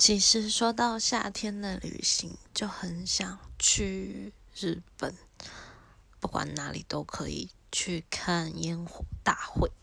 其实说到夏天的旅行，就很想去日本，不管哪里都可以去看烟火大会。